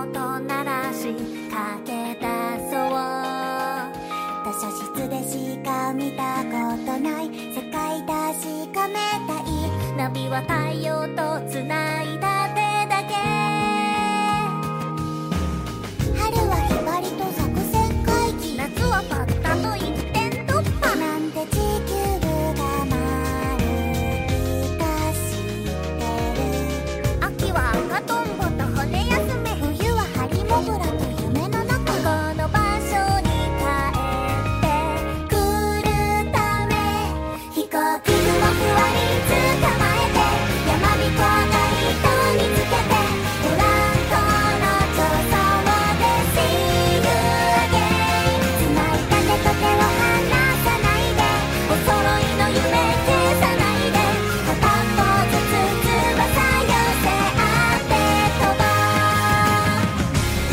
音鳴らしかけ出そう。図書室でしか見たことない世界確かめたい。ナビは太陽とつないだ手だけ。春はひばりと作戦会議、夏はパッタと一点突破。なんて地球部が回るか知ってる。秋は赤とんぼと骨休め、冬はハリモグラと夢の中。この場所に帰ってくるため、飛行機雲ふわり捕まえて、山彦が糸見つけて、ブランコの調査で See you again。 繋いだ手と手を離さないで、お揃いの夢消さないで、片方ずつ翼寄せ合って飛ぼう。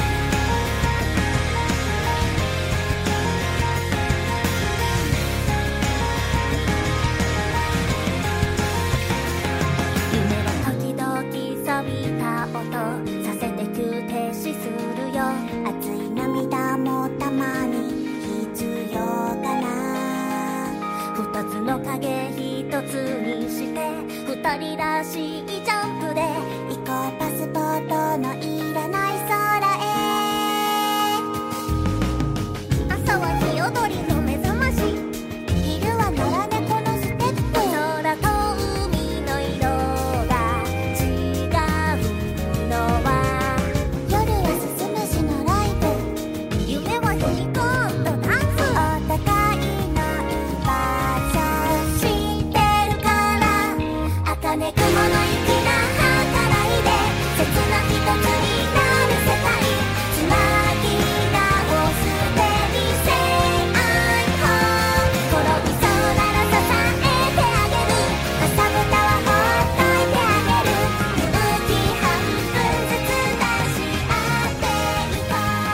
夢は時々錆びた音させて急停止するよ。熱い涙もたまに必要かな。二つの影一つにして二人らしいジャン